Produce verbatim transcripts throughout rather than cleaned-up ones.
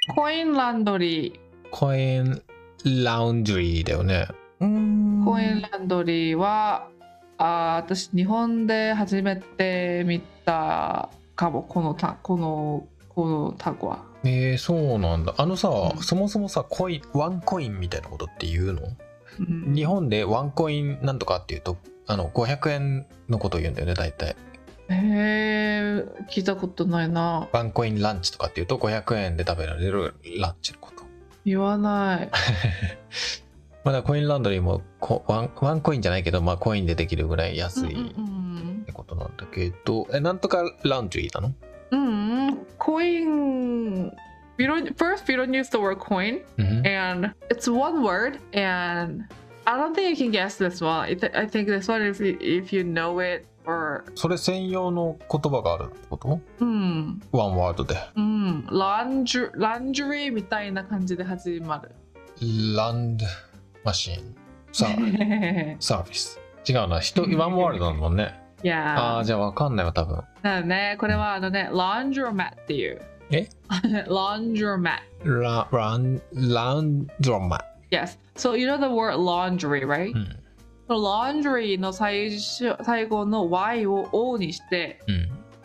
コインランドリー。 コインラウンジリーだよね。うーん。 コインランドリーは、あ、私日本で初めて見たかも、このたこのこの単語は。 えー、そうなんだ。あのさ、 うん、 そもそもさ、コイン、ワンコインみたいなことって言うの？ うん、 日本でワンコインなんとかっていうと、あのごひゃくえんのことを言うんだよね、大体。 へえ、聞いたことないな。 ワンコインランチとかっていうとごひゃくえんで食べられるランチのこと。 言わない。 まだコインランドリーもこワン、ワンコインじゃないけど、まあコインでできるぐらい安いってことなんだけど、え、なんとかラウンジリーなの？ うん、コイン。We don't, first, we don't use the word coin, Mhm. and it's one word, and I don't think you can guess this one. I, th- I think this one is if you know it or. それ専用の言葉があるってこと？ うん。 ワンワードで。 うん。ランジュ、ランジュリーみたいな感じで始まる。 ランドマシン。サーサービス。違うな。人、ワンワードだもんね。 いやああ、じゃあわかんないわ、多分。 だよね。これはあのね、ランジュマットっていう。 えランジュマット。 ラ、ラン、ランドマ。 Yes. So you know the word laundry, right?、うん、laundry の最初最後の Y を O にして、うん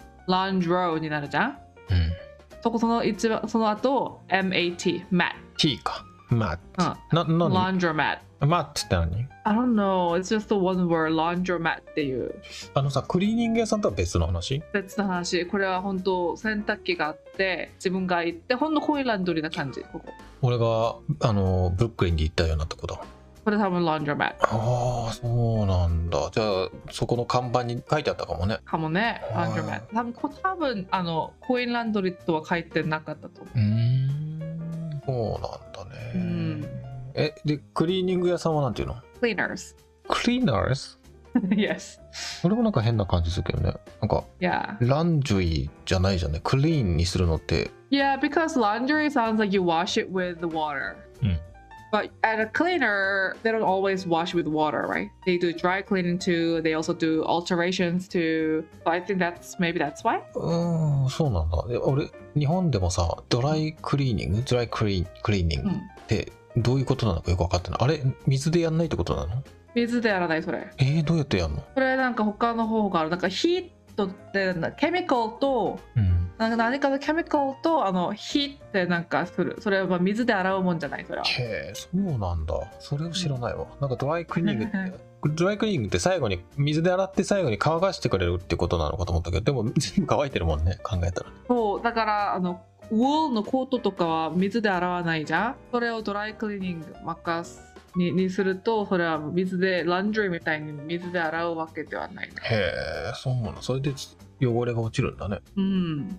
、laundro になるじゃん、うん、そこその一番その後 マット mat T か mat、うん、 な、な、laundromat mat って何？ I don't know, it's just the one word laundromat っていう。 あのさ、クリーニング屋さんとは別の話？ 別の話。これは本当洗濯機があって自分が行ってほんのコインランドリーな感じ。ここ俺があのブルックリンで行ったようなとこだ。 これ多分ランドロマット。 ああ、そうなんだ。じゃあそこの看板に書いてあったかもね。 かもね、ランドロマット。多分多分あのコインランドリーとは書いてなかったと思う。うーん、そうなんだね。うん、え、でクリーニング屋さんはなんていうの？ Cleaners。 Cleaners？ Yes。 俺もなんか変な感じするけどね。なんか、 yeah. ランジュリーじゃないじゃんね。クリーンにするのって。 Yeah, because laundry sounds like you wash it with the water. うん。But at a cleaner, they don't always wash with water, right? They do dry cleaning too. They also do alterations too. So I think that's maybe that's why. うーん、そうなんだ。俺、日本でもさ、ドライクリーニング、ドライクリークリーニングってどういうことなのかよく分かってない。あれ、水でやんないってことなの？ 水でやらないそれ。 えー、どうやってやんの？ これなんか他の方がある。なんかヒートってケミカルと、うん、なんか何かのケミカルとあの火ってなんかする。それは水で洗うもんじゃないそれは。 へえ、そうなんだ。それを知らないわ。うん、なんかドライクリーニングってドライクリーニングって最後に水で洗って最後に乾かしてくれるってことなのかと思ったけど、でも全部乾いてるもんね、考えたら。 そうだからあのウォールのコートとかは水で洗わないじゃん。それをドライクリーニング任す。に, にするとそれは水でランドリーみたいに水で洗うわけではない。 へえ、そうなの。それで汚れが落ちるんだね。 うん。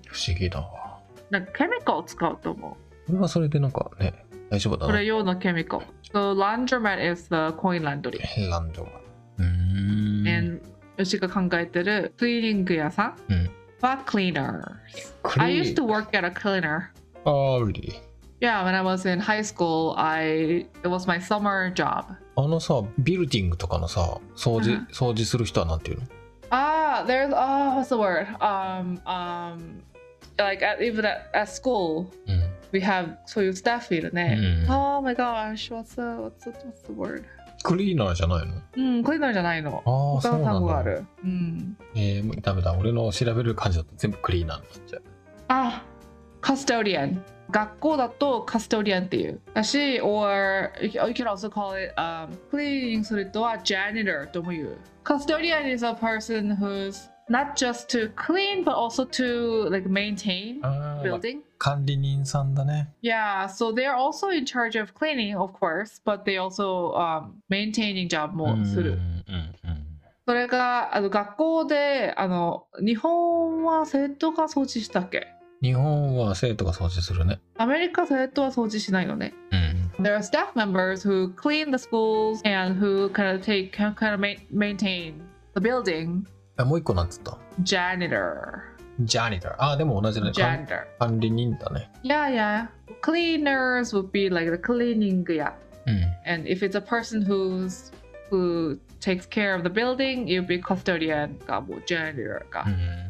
不思議だわ。 なんかケミカルを使うと思う。 これはそれでなんかね、大丈夫だな。 これ用のケミカル。So laundromat is the coin laundry。 ランドマ。うーん。 And 私が考えてるクリーニング屋さん、うん、は cleaners。I used to work at a cleaner. Oh, really?Yeah, when I was in high school, I it was my summer job. あのさ、ビルディングとかのさ、掃除、掃除する人はなんていうの？ ああ、there's ah, what's the word? Um, um, like at, even at, at school, うん、we have そういうスタッフいるね。うん、oh my gosh, what's the what's the what's the word? クリーナーじゃないの？ うん、クリーナーじゃないの。 ああ、そうなんだ。 ある。うん。 えー、ダメだ。俺の調べる感じだと全部クリーナーになっちゃう。 あ、カストディアン。学校だとカストディアンっていうだし or you can also call it、um, クリーニングする人は janitor とも言う。カストディアン is a person who's not just to clean but also to like maintain building、 管理人さんだね。 Yeah, so they're also in charge of cleaning of course, but they also、um, maintaining job もする。うんうんうん、それがあの学校であの日本は生徒が掃除したっけ？ 日本は生徒が掃除するね。 アメリカ生徒は掃除しないのね。うん。There are staff members who clean the schools and who kind of take kind of maintain the building. え、もう一個なんつった？ Janitor. Janitor. あ、でも同じだね。 Janitor. 管理人だね。 Yeah, yeah. Cleaners would be like the cleaning や。うん。And if it's a person who's who takes care of the building, it would be custodian かもう janitor か。うん。